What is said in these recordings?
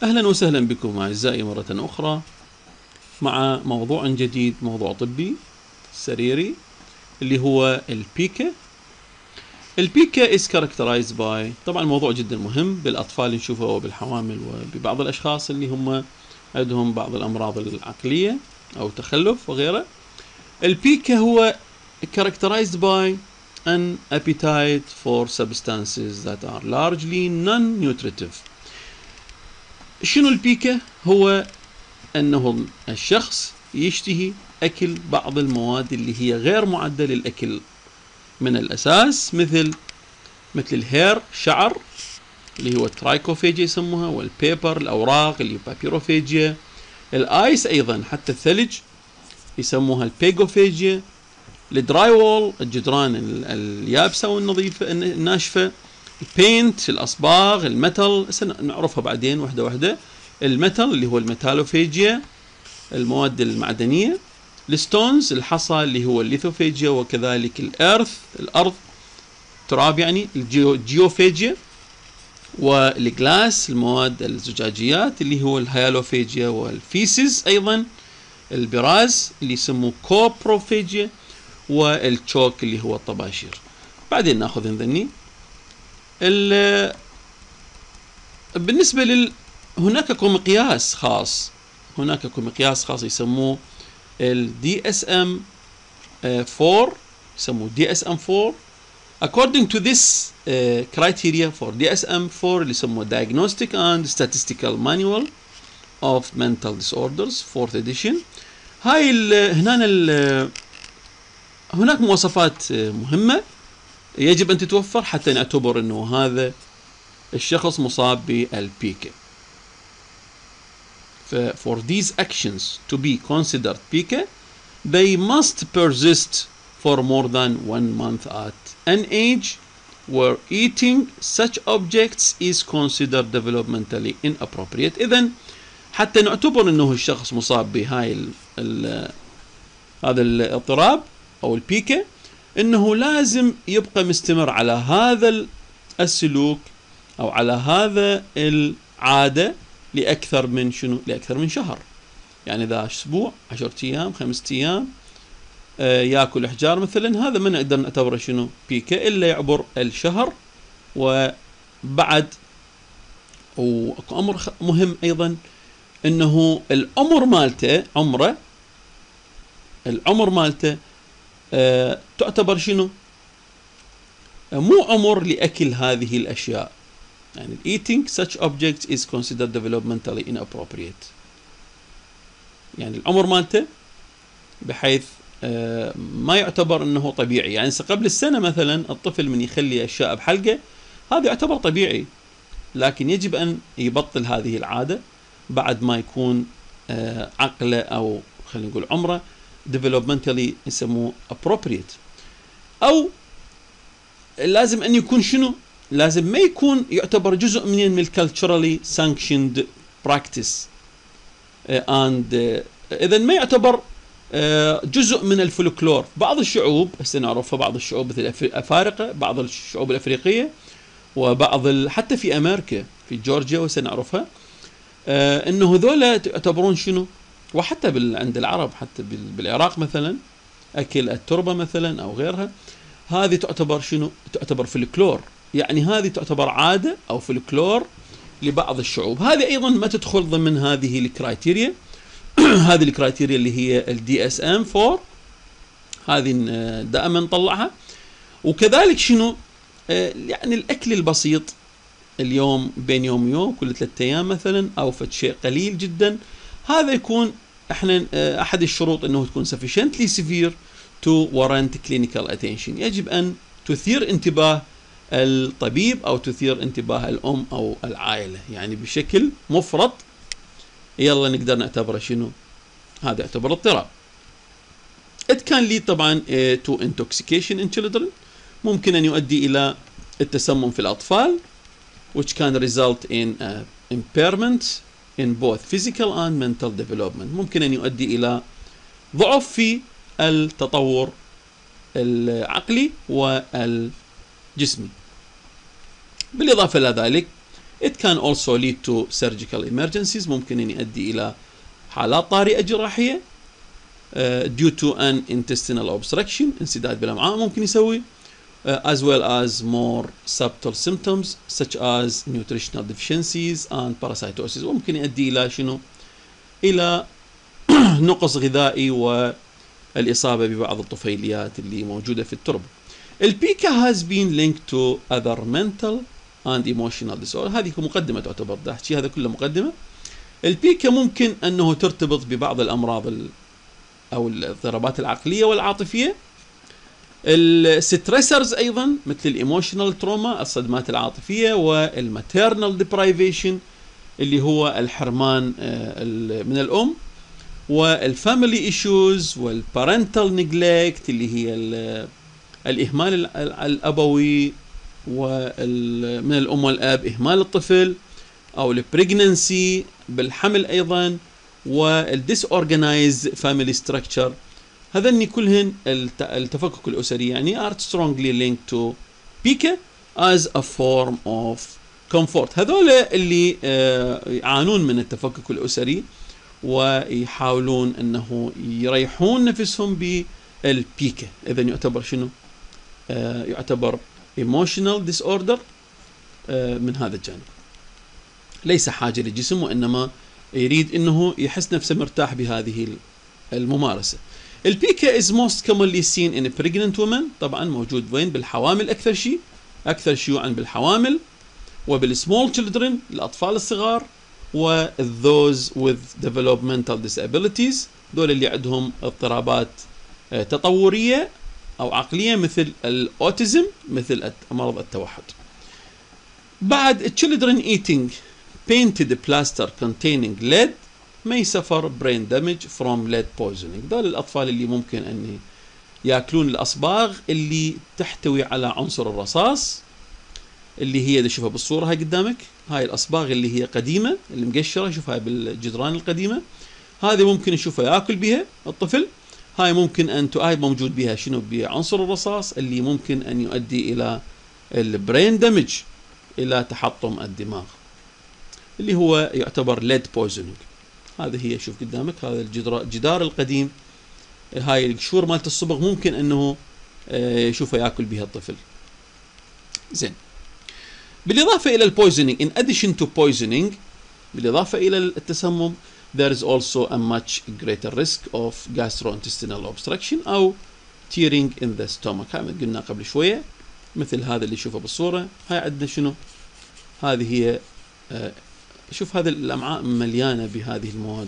أهلا وسهلا بكم أعزائي مرة أخرى مع موضوع جديد، موضوع طبي سريري اللي هو البيكا. البيكا is characterized by، طبعا موضوع جدا مهم بالأطفال نشوفه وبالحوامل وببعض الأشخاص اللي هم عندهم بعض الأمراض العقلية أو تخلف وغيره. البيكا هو characterized by an appetite for substances that are largely non-nutritive. شنو البيكا؟ هو أنه الشخص يشتهي أكل بعض المواد اللي هي غير معدة للأكل من الأساس، مثل الهير، شعر اللي هو الترايكوفيجيا يسموها، والبيبر الأوراق اللي هي بابيروفيجيا، الآيس أيضا حتى الثلج يسموها البيجوفيجيا، الدراي وول الجدران اليابسة والنظيفة الناشفة، البينت الأصباغ، الميتال نعرفها بعدين واحدة واحدة، الميتال اللي هو الميتالوفيجيا المواد المعدنية، الستونز الحصى اللي هو الليثوفيجيا، وكذلك الأرث الأرض تراب يعني الجيوفيجيا، والجلاس المواد الزجاجيات اللي هو الهيالوفيجيا، والفيسز أيضا البراز اللي يسموه كوبروفيجيا، والتشوك اللي هو الطباشير. بعدين ناخذ نذني بالنسبة هناك مقياس خاص، يسموه ال DSM 4، يسموه DSM 4. According to this criteria for DSM 4 اللي يسموه Diagnostic and Statistical Manual of Mental Disorders 4th edition، هاي هناك مواصفات مهمة يجب أن تتوفر حتى نعتبر أنه هذا الشخص مصاب بالبيكا. For these actions to be considered PICA, they must persist for more than 1 month at an age where eating such objects is considered developmentally inappropriate. إذن حتى نعتبر أنه الشخص مصاب بهاي هذا الاضطراب أو البيكا، أنه لازم يبقى مستمر على هذا السلوك أو على هذا العادة لأكثر من شهر. يعني إذا أسبوع 10 أيام 5 أيام يأكل أحجار مثلا، هذا ما نقدر نعتبره بيكا إلا يعبر الشهر. وبعد وأمر مهم أيضا أنه العمر مالته تعتبر مو عمر لأكل هذه الأشياء. يعني eating such objects is considered developmentally inappropriate. يعني العمر مالته بحيث ما يعتبر انه طبيعي. يعني قبل السنة مثلا الطفل من يخلي اشياء بحلقه هذا يعتبر طبيعي، لكن يجب ان يبطل هذه العادة بعد ما يكون عقله او خلينا نقول عمره developmentally يسموه appropriate. او لازم ان يكون لازم ما يكون يعتبر جزء من الكالتشرالي sanctioned practice and إذا ما يعتبر جزء من الفولكلور. بعض الشعوب هسه نعرفها، بعض الشعوب مثل الأفارقة، بعض الشعوب الأفريقية، وبعض حتى في أمريكا في جورجيا وسنعرفها إنه ذولا تعتبرون وحتى عند العرب، حتى بالعراق مثلا أكل التربة مثلا أو غيرها، هذه تعتبر فولكلور. يعني هذه تعتبر عادة أو فولكلور لبعض الشعوب. هذه أيضا ما تدخل ضمن هذه الكرايتيريا هذه الكرايتيريا اللي هي ال DSM 4، هذه دائما نطلعها. وكذلك يعني الأكل البسيط اليوم بين يوم ويوم، كل 3 أيام مثلا، أو فد شيء قليل جدا، هذا يكون أحد الشروط أنه تكون sufficiently severe to warrant clinical attention. يجب أن تثير انتباه الطبيب أو تثير انتباه الأم أو العائلة، يعني بشكل مفرط يلا نقدر نعتبره هذا يعتبر اضطراب. It can lead طبعا to intoxication in children، ممكن أن يؤدي إلى التسمم في الأطفال، which can result in impairment in both physical and mental development. ممكن أن يؤدي إلى ضعف في التطور العقلي والجسمي. بالإضافة إلى ذلك It can also lead to surgical emergencies. ممكن أن يؤدي إلى حالات طارئة جراحية due to an intestinal obstruction. انسداد بالأمعاء ممكن يسوي as well as more subtle symptoms such as nutritional deficiencies and parasitosis. وممكن يؤدي إلى شنو؟ إلى نقص غذائي والإصابة ببعض الطفيليات اللي موجودة في التربة. البيكا has been linked to other mental and emotional disorder. هذه مقدمة تعتبر، أحكي هذا كله مقدمة. البيكا ممكن أنه ترتبط ببعض الأمراض أو الاضطرابات العقلية والعاطفية. الستريسرز أيضا مثل الإيموشنال تروما، الصدمات العاطفية، والماتيرنال ديبرايفيشن اللي هو الحرمان من الأم، والفاميلي ايشوز، والبارنتال نيجلكت اللي هي الإهمال الأبوي من الأم والأب، إهمال الطفل، أو البريجننسي بالحمل أيضا، والديس أورجنايز فاميلي ستراكشر. هذني كلهن التفكك الأسري يعني are strongly linked to PICA as a form of comfort. هذول اللي يعانون من التفكك الأسري ويحاولون أنه يريحون نفسهم بالبيكا. إذا يعتبر شنو؟ يعتبر emotional disorder من هذا الجانب، ليس حاجة للجسم وإنما يريد أنه يحس نفسه مرتاح بهذه الممارسة. البيكا is most commonly seen in a pregnant woman. طبعا موجود وين؟ بالحوامل أكثر شيء، أكثر شيوعا بالحوامل، وبالسمول children الأطفال الصغار، those with developmental disabilities، دول اللي عندهم اضطرابات تطورية أو عقلية مثل الأوتيزم، مثل مرض التوحد. بعد children eating painted plaster containing lead may suffer brain damage from lead poisoning. دول الأطفال اللي ممكن أن يأكلون الأصباغ اللي تحتوي على عنصر الرصاص، اللي هي نشوفها بالصورة هاي قدامك، هاي الأصباغ اللي هي قديمة اللي مقشرة، شوفها بالجدران القديمة، هذه ممكن نشوفها يأكل بها الطفل. هاي ممكن أن هاي موجود بها شنو؟ بعنصر الرصاص اللي ممكن أن يؤدي إلى البرين دامج، إلى تحطم الدماغ، اللي هو يعتبر lead poisoning. هذه هي شوف قدامك، هذا الجدار القديم، هاي القشور مالت الصبغ ممكن أنه يشوفها يأكل بها الطفل. زين، بالإضافة إلى البويزنينج in addition to poisoning، بالإضافة إلى التسمم there is also a much greater risk of gastrointestinal obstruction أو tearing in the stomach. هاي قلنا قبل شوية، مثل هذا اللي شوفه بالصورة. هاي عندنا شنو؟ هذه هي شوف هذه الأمعاء مليانة بهذه المواد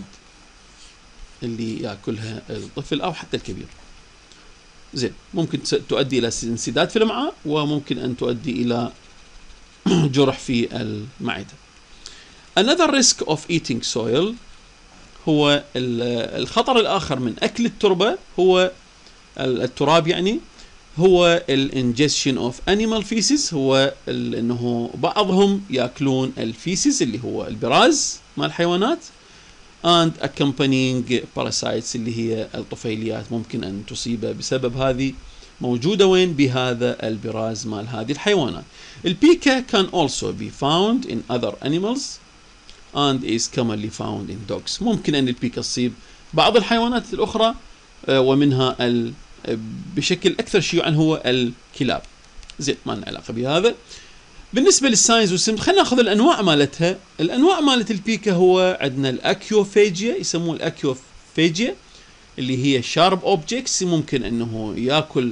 اللي يأكلها الطفل أو حتى الكبير. زين، ممكن تؤدي إلى انسداد في الأمعاء، وممكن أن تؤدي إلى جرح في المعدة. Another risk of eating soil هو الخطر الآخر من أكل التربة، هو التراب يعني، هو ingestion of animal feces. هو انه بعضهم ياكلون الفيسز اللي هو البراز مال الحيوانات and accompanying parasites اللي هي الطفيليات ممكن ان تصيب بسبب هذه، موجودة وين؟ بهذا البراز مال هذه الحيوانات. البيكا can also be found in other animals and is commonly found in dogs. ممكن ان البيكا تصيب بعض الحيوانات الأخرى ومنها بشكل أكثر شيوعا هو الكلاب. زين، ما لنا علاقة بهذا. بالنسبة للساينز والسيمتومز خلينا ناخذ الأنواع مالتها. الأنواع مالت البيكا هو عندنا الأكيوفاجيا، يسموه الأكيوفاجيا اللي هي شارب أوبجكتس، ممكن أنه يأكل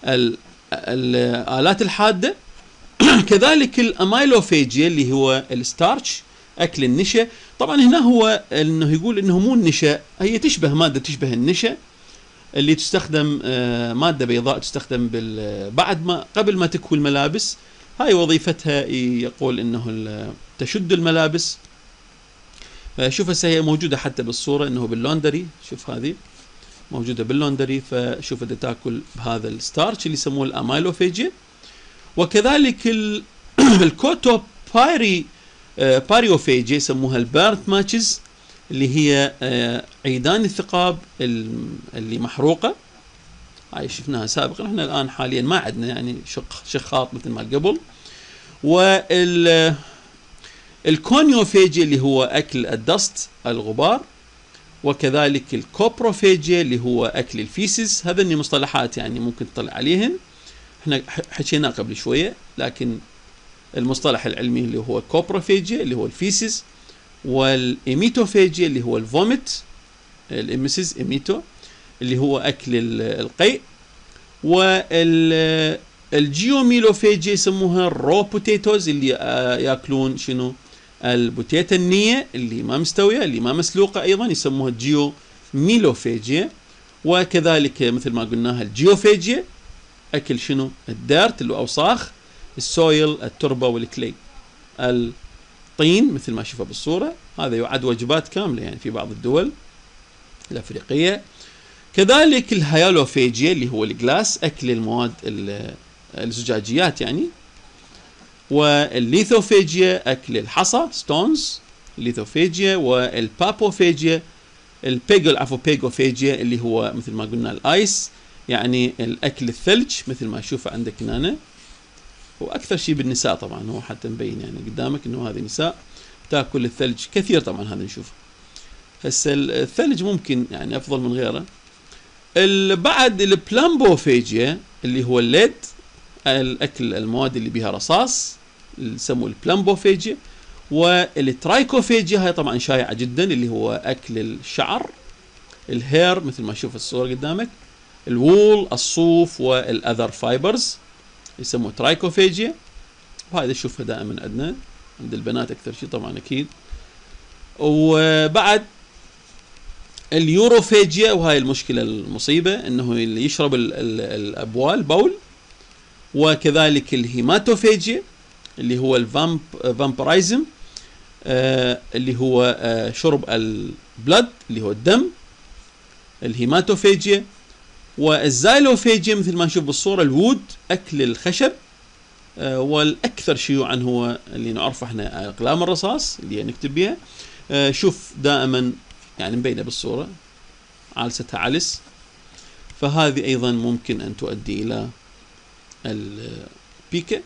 الآلات الحادة. كذلك الأمايلوفاجيا اللي هو الستارش، أكل النشا. طبعا هنا هو أنه يقول أنه مو النشا، هي تشبه مادة تشبه النشا اللي تستخدم، مادة بيضاء تستخدم بعد ما قبل ما تكوي الملابس. هاي وظيفتها يقول انه تشد الملابس. شوف هسه هي موجودة حتى بالصورة انه باللوندري، شوف هذه موجودة باللوندري، فشوف بدها تاكل بهذا الستارش اللي يسموه الامايلوفاجيا. وكذلك الكوتو باريوفاجيا يسموها البيرت ماتشز اللي هي عيدان الثقاب اللي محروقة. هاي شفناها سابقا، احنا الآن حاليا ما عندنا يعني شخاط مثل ما قبل. الكونيوفاجيا اللي هو أكل الدست الغبار، وكذلك الكوبروفاجيا اللي هو أكل الفيسز. هذني مصطلحات يعني ممكن تطلع عليهن، احنا حكيناه قبل شوية، لكن المصطلح العلمي اللي هو كوبروفاجيا اللي هو الفيسز، والإيميتوفاجيا اللي هو الفوميت، الإميسيس إيميتو اللي هو أكل القيء، والجيوميلوفاجيا يسموها الرو بوتيتوز اللي ياكلون شنو؟ البوتيتا النية اللي ما مستوية اللي ما مسلوقة، أيضا يسموها الجيوميلوفاجيا. وكذلك مثل ما قلناها الجيوفاجيا أكل شنو؟ الديرت اللي أوساخ، السويل التربة والكلي الطين مثل ما شوفه بالصورة. هذا يعد وجبات كاملة يعني في بعض الدول الأفريقية. كذلك الهيالوفاجيا اللي هو الجلاس أكل المواد الزجاجيات يعني. والليثوفاجيا أكل الحصى ستونز ليثوفاجيا. والبابوفاجيا بيجوفاجيا اللي هو مثل ما قلنا الآيس يعني الأكل الثلج مثل ما أشوفه عندك هنا، وأكثر شيء بالنساء طبعا، هو حتى مبين يعني قدامك إنه هذه نساء تاكل الثلج كثير طبعا. هذا نشوفه هسه الثلج ممكن يعني أفضل من غيره. بعد البلامبوفاجيا اللي هو الليد الأكل المواد اللي بها رصاص اللي يسموه البلامبوفاجيا. والترايكوفاجيا هاي طبعا شائعة جدا اللي هو أكل الشعر الهير مثل ما شوف الصورة قدامك، الوول الصوف والأذر فايبرز يسموه ترايكوفاجيا. وهذا نشوفها دائما عندنا عند البنات أكثر شيء طبعا أكيد. وبعد اليوروفاجيا، وهاي المشكلة المصيبة انه اللي يشرب الابوال بول. وكذلك الهيماتوفاجيا اللي هو الفامبرايزم اللي هو شرب البلد اللي هو الدم، الهيماتوفاجيا. والزايلوفاجيا مثل ما نشوف بالصورة الوود أكل الخشب. والأكثر شيوعا هو اللي نعرفه احنا أقلام الرصاص اللي نكتب بها. شوف دائما يعني مبينة بالصورة عالستها علس، فهذه أيضا ممكن أن تؤدي إلى البيكا.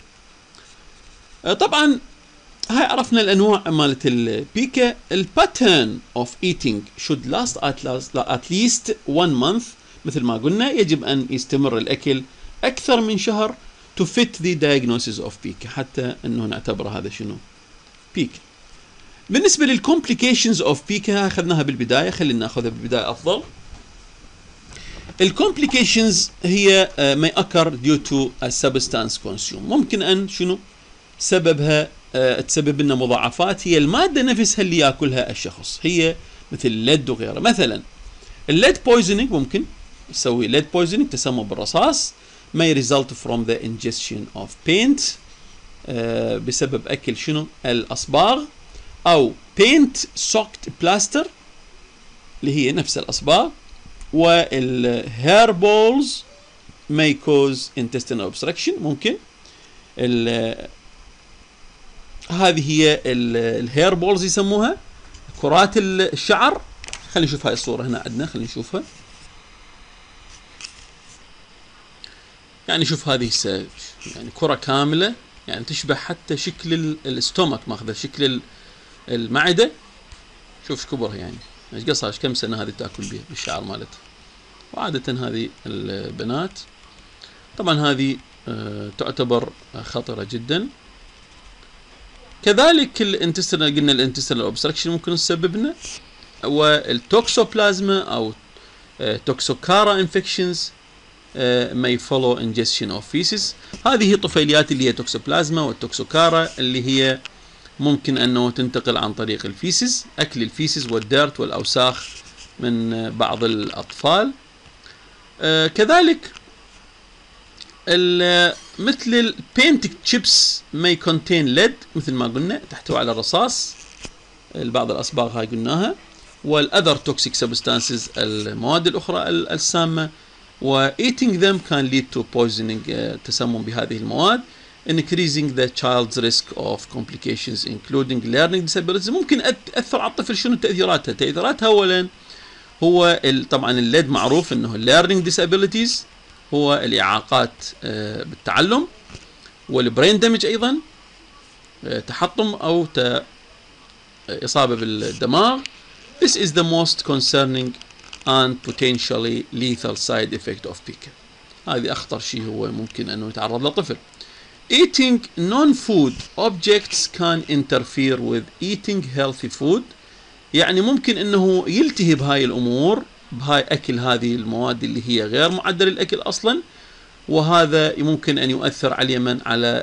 طبعا هاي عرفنا الأنواع مالت البيكا. الباترن of eating should last at least 1 month مثل ما قلنا، يجب أن يستمر الأكل أكثر من شهر to fit the diagnosis of بيكا، حتى أنه نعتبر هذا شنو بيكا. بالنسبة للcomplications of بيكا أخذناها بالبداية، خلينا نأخذها بالبداية أفضل. الcomplications هي may occur due to a substance consumed. ممكن أن شنو سببها تسبب لنا مضاعفات، هي المادة نفسها اللي يأكلها الشخص، هي مثل الليد وغيره. مثلا الليد poisoning ممكن يسوي lead poisoning تسمم بالرصاص may result from the ingestion of paint بسبب أكل شنو الأصباغ، أو paint soaked plaster اللي هي نفس الأصباغ. والhair balls may cause intestinal obstruction ممكن. هذه هي الهير بولز يسموها كرات الشعر. خلينا نشوف هاي الصورة هنا عندنا، خلينا نشوفها. يعني شوف هذه يعني كرة كاملة يعني تشبه حتى شكل الاستومك، ماخذة شكل المعدة. شوف كبرها يعني ايش قصها، كم سنة هذه تاكل بها بالشعر مالتها. وعادة هذه البنات طبعا هذه تعتبر خطرة جدا. كذلك الانتستينال، قلنا الانتستينال اوبستراكشن ممكن تسببنا، والتوكسوبلازما او توكسوكارا انفكشنز may follow ingestion of feces. هذه طفيليات اللي هي توكسوبلازما والتوكسوكارا اللي هي ممكن انه تنتقل عن طريق الفيسز، اكل الفيسز والديرت والاوساخ من بعض الاطفال. كذلك مثل البينت تشيبس may contain lead مثل ما قلنا تحتوي على الرصاص، بعض الأصباغ هاي قلناها. والأذر توكسيك سبستانسز المواد الأخرى السامة، و eating them can lead to poisoning تسمم بهذه المواد، increasing the child's risk of complications including learning disabilities. ممكن تأثر على الطفل. شنو تأثيراتها؟ تأثيراتها أولا هو طبعا الليد معروف انه learning disabilities هو الإعاقات بالتعلم، والبرين دامج أيضا تحطم أو إصابة بالدماغ. This is the most concerning and potentially lethal side effect of PICA. هذه أخطر شيء هو ممكن أنه يتعرض له طفل. Eating non-food objects can interfere with eating healthy food. يعني ممكن أنه يلتهي بهاي الأمور، بهاي أكل هذه المواد اللي هي غير معدل الأكل أصلا، وهذا ممكن أن يؤثر على اليمن على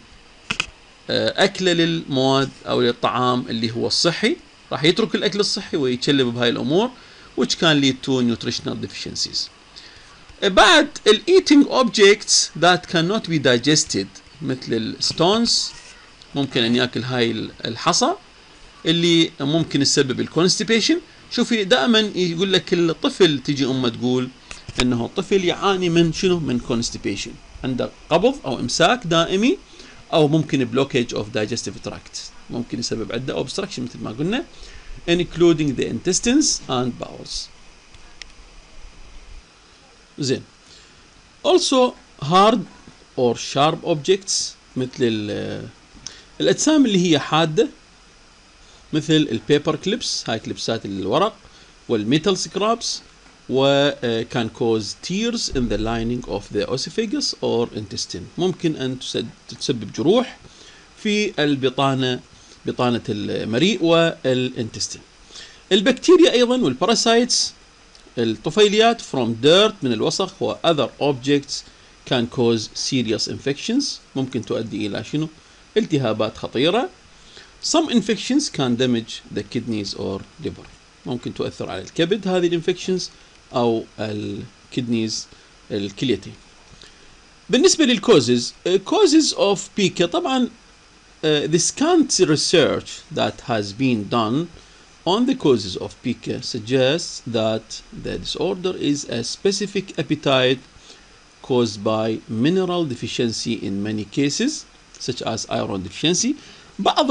أكله للمواد أو للطعام اللي هو الصحي. راح يترك الأكل الصحي ويتشلب بهاي الأمور which can lead to nutritional deficiencies. بعد ال eating objects that cannot be digested مثل الستونز، ممكن أن يأكل هاي الحصى اللي ممكن تسبب الكونستيبيشن. شوفي دائما يقول لك الطفل تجي أمه تقول إنه الطفل يعاني من شنو؟ من constipation، عنده قبض أو إمساك دائمي، أو ممكن blockage of digestive tract، ممكن يسبب عدة obstruction مثل ما قلنا including the intestines and bowels. زين. Also hard or sharp objects مثل الأجسام اللي هي حادة مثل البيبر كليبس، هاي كليبسات الورق، والميتال سكرابس، و can cause tears in the lining of the esophagus or intestine. ممكن أن تسبب جروح في البطانة، بطانة المريء والانتستين. البكتيريا أيضا والباراسايتس، الطفيليات from dirt من الوسخ و other objects can cause serious infections، ممكن تؤدي إلى شنو؟ التهابات خطيرة. Some infections can damage the kidneys or liver، ممكن تؤثر على الكبد هذه الانفكشنز أو الكدنيز الكليتين. بالنسبة للكوزز، causes of PICA طبعا the scant research that has been done on the causes of PICA suggests that the disorder is a specific appetite caused by mineral deficiency in many cases such as iron deficiency. بعض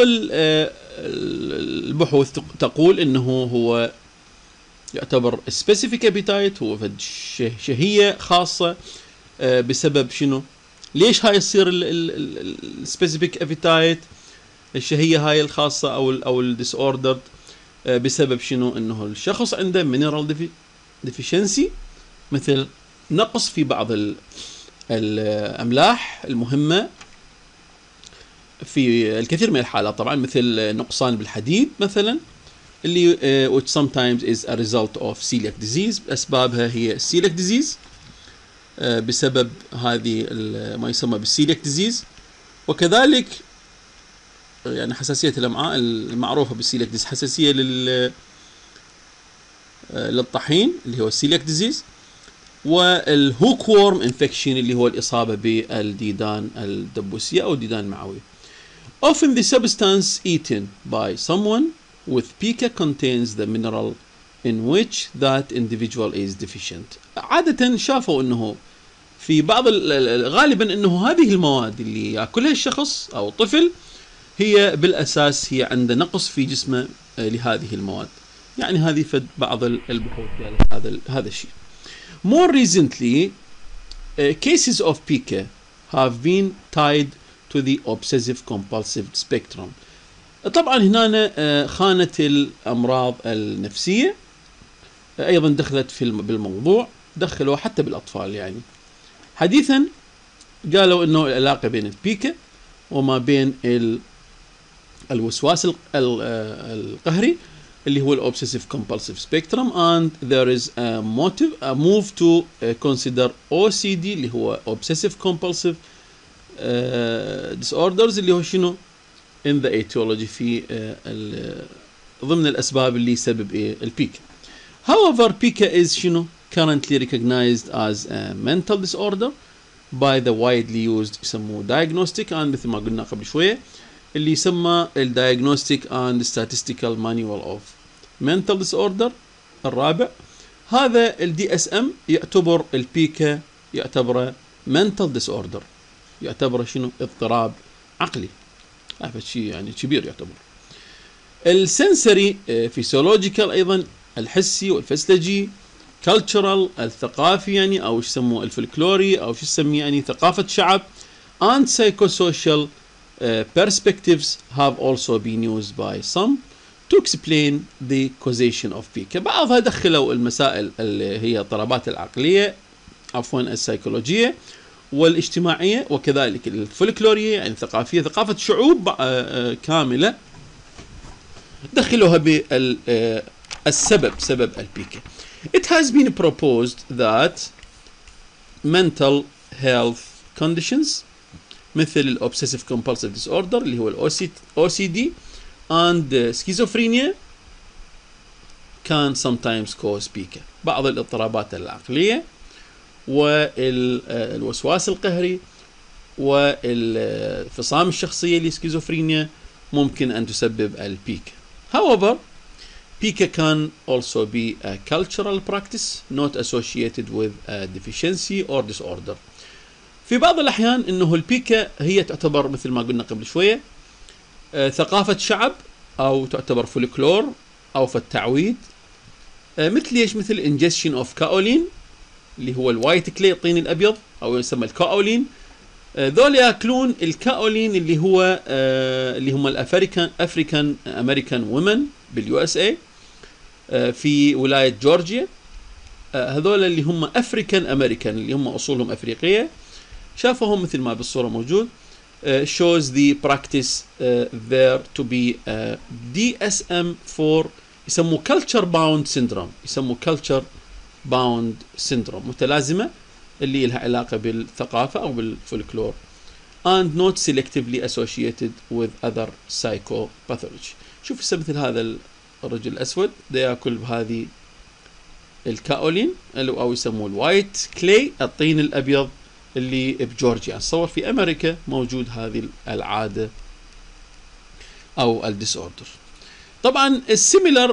البحوث تقول انه هو يعتبر specific appetite، هو شهية خاصة بسبب شنو؟ ليش هاي يصير specific appetite، الشهية هاي الخاصة او disordered، بسبب شنو؟ انه الشخص عنده mineral deficiency، مثل نقص في بعض الاملاح المهمة في الكثير من الحالات، طبعا مثل نقصان بالحديد مثلا، اللي which sometimes is a result of celiac disease. اسبابها هي celiac disease، بسبب هذه ما يسمى بالceliac disease، وكذلك يعني حساسية الأمعاء المعروفة بالceliac disease، حساسية للطحين اللي هو celiac disease، والهوكورم انفكشن اللي هو الإصابة بالديدان الدبوسية أو الديدان المعوية. Often the substance eaten by someone with PICA contains the mineral in which that individual is deficient. عادة شافوا انه في بعض غالبا انه هذه المواد اللي ياكلها الشخص او الطفل هي بالاساس هي عنده نقص في جسمه لهذه المواد. يعني هذه فد بعض البحوث على هذا الشيء. More recently, cases of PICA have been tied to the obsessive compulsive spectrum. طبعا هنا خانة الأمراض النفسية أيضا دخلت بالموضوع، دخلوا حتى بالأطفال. يعني حديثا قالوا أنه العلاقة بين البيكا وما بين الوسواس القهري اللي هو الأوبسيسيف كومبالسيف سبيكترم and there is a move to consider OCD اللي هو Obsessive Compulsive Disorders اللي هو شنو in the etiology في ضمن الأسباب اللي يسبب البيكا. However, PICA is شنو currently recognized as a mental disorder by the widely used يسموه diagnostic and مثل ما قلنا قبل شوية اللي يسمى Diagnostic and Statistical Manual of Mental Disorder الرابع. هذا DSM يعتبر البيكا يعتبره mental disorder، يعتبره شنو اضطراب عقلي. هذا شيء يعني كبير يعتبر. السنسري فيسيولوجيكال أيضا الحسي والفسلجي، cultural الثقافي يعني أو شو يسموه الفلكلوري أو شو يسميه يعني ثقافة شعب and psychosocial perspectives have also been used by some to explain the causation of PICA. بعضها دخلوا المسائل اللي هي اضطرابات العقلية عفوا السيكولوجية والاجتماعية وكذلك الفولكلورية يعني الثقافية، ثقافة شعوب كاملة دخلوها بالسبب سبب البيكا. It has been proposed that mental health conditions مثل الobsessive compulsive disorder اللي هو ال OCD and schizophrenia can sometimes cause PICA. بعض الاضطرابات العقلية والوسواس القهري والفصام الشخصية السكيزوفرينيا ممكن أن تسبب البيكا. However, PICA can also be a cultural practice not associated with a deficiency or disorder. في بعض الأحيان إنه البيكا هي تعتبر مثل ما قلنا قبل شوية ثقافة شعب أو تعتبر فولكلور أو في التعويد، مثل ايش؟ مثل ingestion of كاولين اللي هو الوايت كلي الطين الأبيض أو يسمى الكاولين. ذول يأكلون الكاولين اللي هو اللي هم الأفريكان أمريكان وومن باليو اس اي في ولاية جورجيا. هذول اللي هم أفريكان أمريكان اللي هم أصولهم أفريقية، شافوهم مثل ما بالصورة موجود. shows the practice there to be DSM-4 يسموه culture bound syndrome، يسموه culture bound syndrome متلازمة اللي لها علاقة بالثقافة أو بالفولكلور and not selectively associated with other psychopathology. شوف مثل هذا الرجل الأسود ده يأكل بهذه الكاولين أو يسموه الوايت كلي الطين الأبيض اللي بجورجيا. تصور في أمريكا موجود هذه العادة أو الديسوردر. طبعا similar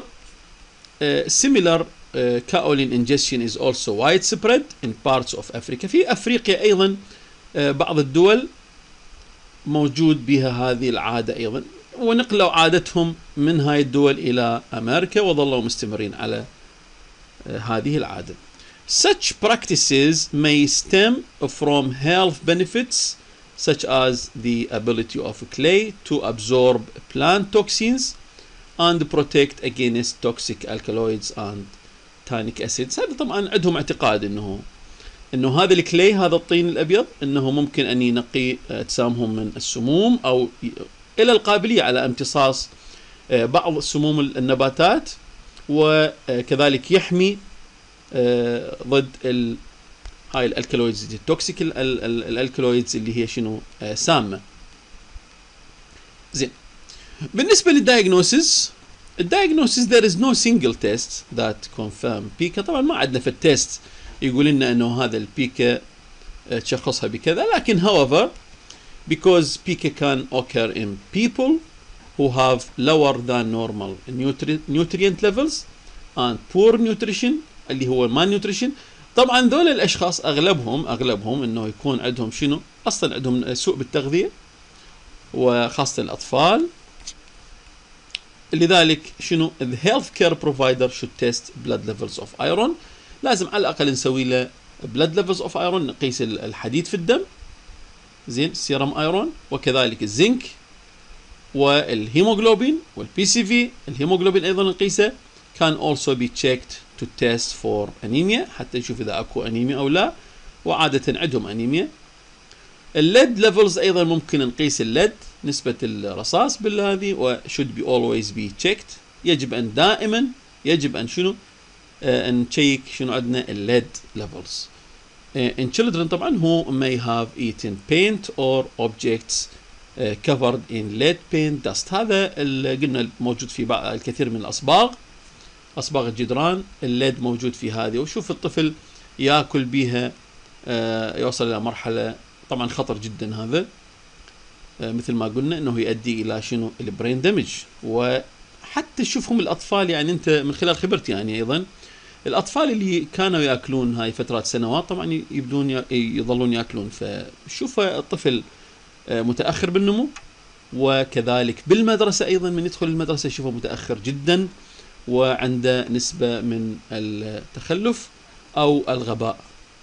kaolin ingestion is also widespread in parts of Africa. في أفريقيا أيضا بعض الدول موجود بها هذه العادة أيضا، ونقلوا عادتهم من هاي الدول إلى أمريكا وظلوا مستمرين على هذه العادة. Such practices may stem from health benefits such as the ability of clay to absorb plant toxins and protect against toxic alkaloids and tannic acids. هذا طبعا عندهم اعتقاد انه هذا الكلي هذا الطين الابيض انه ممكن ان ينقي اجسامهم من السموم او الى القابلية على امتصاص بعض سموم النباتات، وكذلك يحمي ضد هاي الالكالويدز التوكسيك الالكالويدز اللي هي شنو سامة. زين، بالنسبة للدايجنوسيس there is no single test that confirm PICA. طبعا ما عندنا في التست يقول لنا انه هذا البيكا تشخصها بكذا، لكن however because PICA can occur in people who have lower than normal nutrient levels and poor nutrition اللي هو malnutrition. طبعا ذول الاشخاص اغلبهم انه يكون عندهم شنو اصلا عندهم سوء بالتغذية وخاصة الاطفال. لذلك شنو the health care provider should test blood levels of iron. لازم على الاقل نسوي له blood levels of iron، نقيس الحديد في الدم، زين سيرم ايرون، وكذلك الزنك والهيموغلوبين والبي سي في. الهيموغلوبين ايضا نقيسه can also be checked to test for anemia حتى نشوف اذا اكو انيميا او لا، وعادة عندهم انيميا. الليد ليفلز ايضا ممكن نقيس الليد نسبة الرصاص بالهذه و should be always be checked. يجب ان دائما شنو نشيك شنو عندنا الليد ليفلز. in children طبعا who may have eaten paint or objects covered in lead paint dust. هذا اللي قلنا موجود في بعض الكثير من اصباغ الجدران، الليد موجود في هذه، وشوف الطفل ياكل بها يوصل الى مرحلة طبعا خطر جدا. هذا مثل ما قلنا انه يؤدي الى شنو البرين دمج. وحتى تشوفهم الاطفال، يعني انت من خلال خبرتي يعني ايضا الاطفال اللي كانوا ياكلون هاي فترات سنوات طبعا يظلون ياكلون، فشوف الطفل متاخر بالنمو. وكذلك بالمدرسه ايضا من يدخل المدرسه يشوفه متاخر جدا وعنده نسبه من التخلف او الغباء.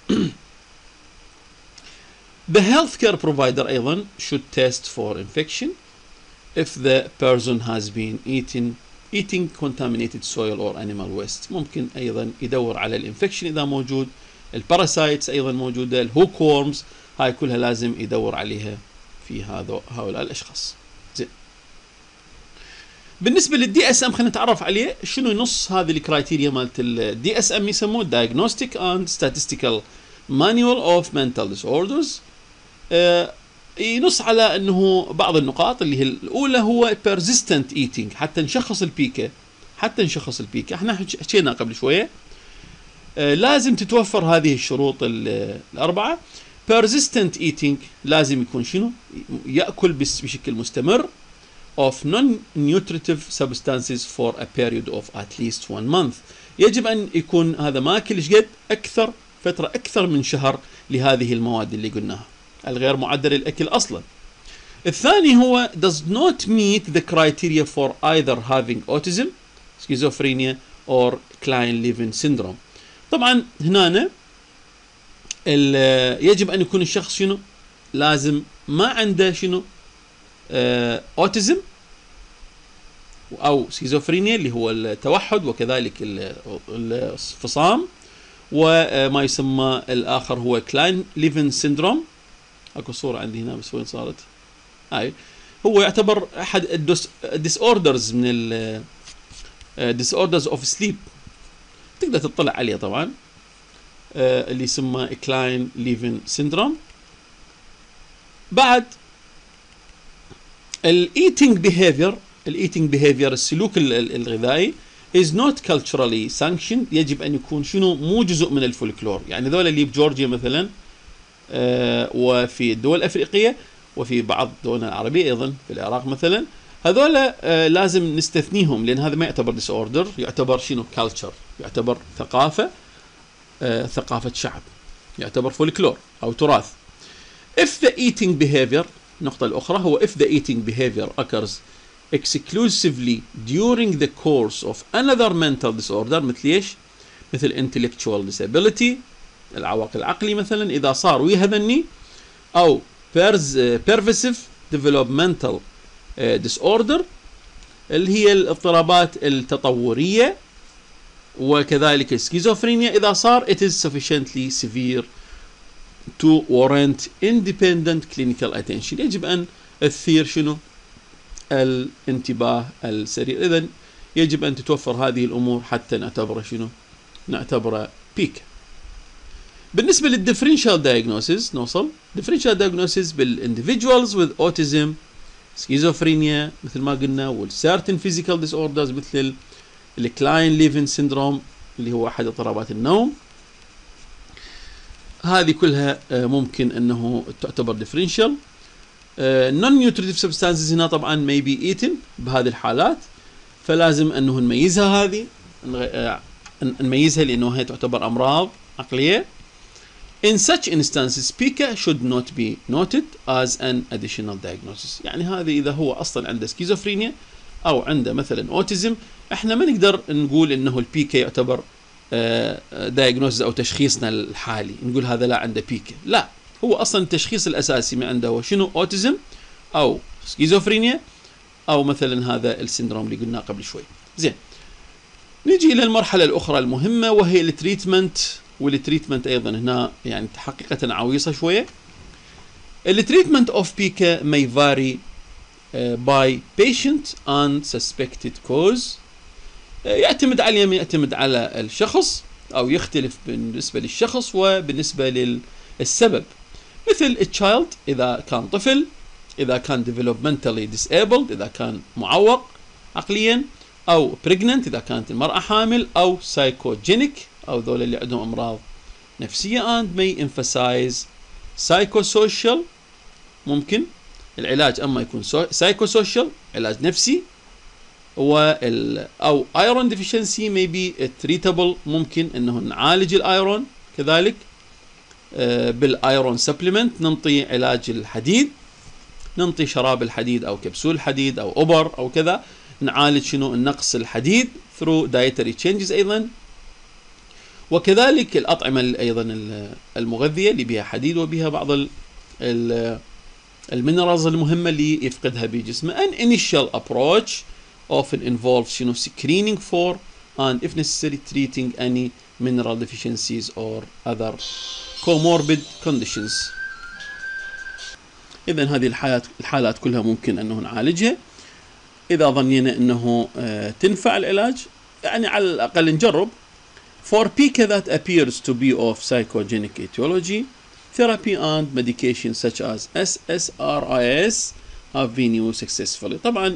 The healthcare provider أيضا should test for infection if the person has been eating eating contaminated soil or animal waste. ممكن أيضا يدور على الانفكشن إذا موجود، الباراسايتس أيضا موجودة، الهوك وورمز، هاي كلها لازم يدور عليها في هؤلاء الأشخاص. زين. بالنسبة للدي اس ام خلينا نتعرف عليه. شنو نص هذه الكرايتيريا مالت الدي اس ام؟ يسموه Diagnostic and Statistical Manual of Mental Disorders. ينص على انه بعض النقاط اللي هي الاولى هو persistent eating. حتى نشخص البيكا، احنا حكينا قبل شويه، لازم تتوفر هذه الشروط الاربعه. persistent eating لازم يكون شنو؟ ياكل بشكل مستمر of non-nutritive substances for a period of at least 1 month. يجب ان يكون هذا ماكل قد فتره اكثر من شهر لهذه المواد اللي قلناها الغير معدل الأكل أصلا. الثاني هو does not meet the criteria for either having autism, schizophrenia or Klein-Levin syndrome. طبعا هنا يجب أن يكون الشخص شنو؟ لازم ما عنده شنو؟ autism أو schizophrenia اللي هو التوحد، وكذلك الفصام، وما يسمى الآخر هو Klein-Levin syndrome. اكو صورة عندي هنا بس وين صارت؟ هاي هو يعتبر احد الديسوردرز من disorders of sleep، تقدر تطلع عليه طبعا، اللي يسمى Klein-Levin syndrome. بعد eating behavior السلوك الغذائي is not culturally sanctioned. يجب ان يكون شنو؟ مو جزء من الفولكلور. يعني ذولا اللي بجورجيا مثلا، وفي الدول الأفريقية، وفي بعض الدول العربية أيضا، في العراق مثلا، هذولا لازم نستثنيهم، لأن هذا ما يعتبر disorder، يعتبر شنو؟ culture، يعتبر ثقافة شعب، يعتبر فولكلور أو تراث. if the eating behavior، النقطة الأخرى هو if the eating behavior occurs exclusively during the course of another mental disorder، مثل إيش؟ مثل intellectual disability، العوائق العقلي مثلا، إذا صار ويا هذني، أو pervasive developmental disorder اللي هي الاضطرابات التطورية، وكذلك السكيزوفرينيا إذا صار it is sufficiently severe to warrant independent clinical attention. يجب أن تثير شنو؟ الانتباه السريع. إذن يجب أن تتوفر هذه الأمور حتى نعتبره شنو؟ نعتبره بيك. بالنسبة للديفرنشال diagnosis نوصل differential diagnosis بالindividuals with autism, schizophrenia مثل ما قلنا، والcertain physical disorders مثل Klein-Levin syndrome اللي هو أحد اضطرابات النوم. هذه كلها ممكن أنه تعتبر differential. non-nutritive substances هنا طبعا may be eaten بهذه الحالات، فلازم أنه نميزها، نميزها لأنه هي تعتبر أمراض عقلية. In such instances, PICA should not be noted as an additional diagnosis. يعني هذه إذا هو أصلا عنده سكيزوفرينيا أو عنده مثلا أوتيزم، إحنا ما نقدر نقول إنه البيكا يعتبر diagnosis أو تشخيصنا الحالي، نقول هذا لا عنده بيكا. لا، هو أصلا التشخيص الأساسي ما عنده هو شنو؟ أوتيزم أو سكيزوفرينيا أو مثلا هذا السندروم اللي قلناه قبل شوي. زين، نجي إلى المرحلة الأخرى المهمة وهي التريتمنت. والتريتمنت أيضا هنا يعني حقيقة عويصة شوية. التريتمنت of PICA may vary by patient and suspected cause. يعتمد على الشخص، أو يختلف بالنسبة للشخص وبالنسبة للسبب. مثل الchild إذا كان طفل، إذا كان developmentally disabled إذا كان معوق عقليا، أو pregnant إذا كانت المرأة حامل، أو psychogenic أو ذول اللي عندهم أمراض نفسية. and may emphasize psychosocial، ممكن العلاج أما يكون psychosocial علاج نفسي، أو iron deficiency may be treatable، ممكن أنه نعالج الأيرون كذلك بالايرون سبلمنت، ننطي علاج الحديد، ننطي شراب الحديد أو كبسول الحديد أو أوبر أو كذا، نعالج شنو؟ النقص الحديد through dietary changes أيضا. وكذلك الأطعمة أيضا المغذية اللي بها حديد وبها بعض المينرالز المهمة اللي يفقدها بجسمه. An initial approach often involves screening for and if necessary treating any mineral deficiencies or other comorbid conditions. إذن هذه الحالات كلها ممكن أنه نعالجها إذا ظنينا أنه تنفع العلاج، يعني على الأقل نجرب. For pica that appears to be of psychogenic etiology, therapy and medication such as SSRIs have been used successfully. طبعا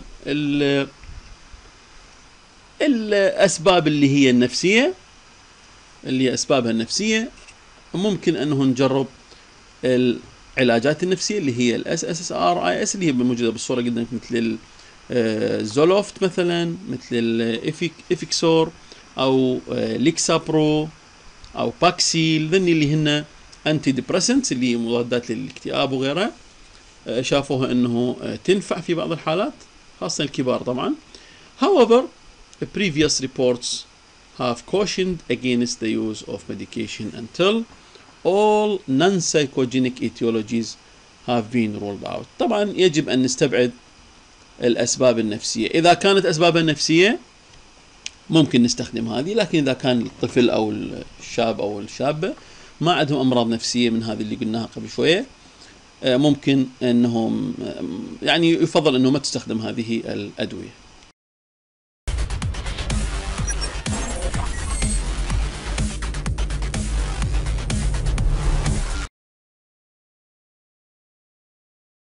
الأسباب اللي هي النفسية، اللي هي أسبابها النفسية، ممكن أنه نجرب العلاجات النفسية اللي هي SSRIs اللي هي موجودة بالصورة قدامك، مثل الزولوفت مثلا، مثل الإفيكسور أو ليكسابرو أو باكسيل، ذني اللي هن أنتي ديبريسنتس اللي هي مضادات للاكتئاب وغيرها. شافوها أنه تنفع في بعض الحالات خاصة الكبار طبعا. However, previous reports have cautioned against the use of medication until all non-psychogenic etiologies have been ruled out. طبعا يجب أن نستبعد الأسباب النفسية. إذا كانت أسبابها نفسية ممكن نستخدم هذه، لكن إذا كان الطفل أو الشاب أو الشابة ما عندهم أمراض نفسية من هذه اللي قلناها قبل شوية، ممكن أنهم يعني يفضل أنه ما تستخدم هذه الأدوية.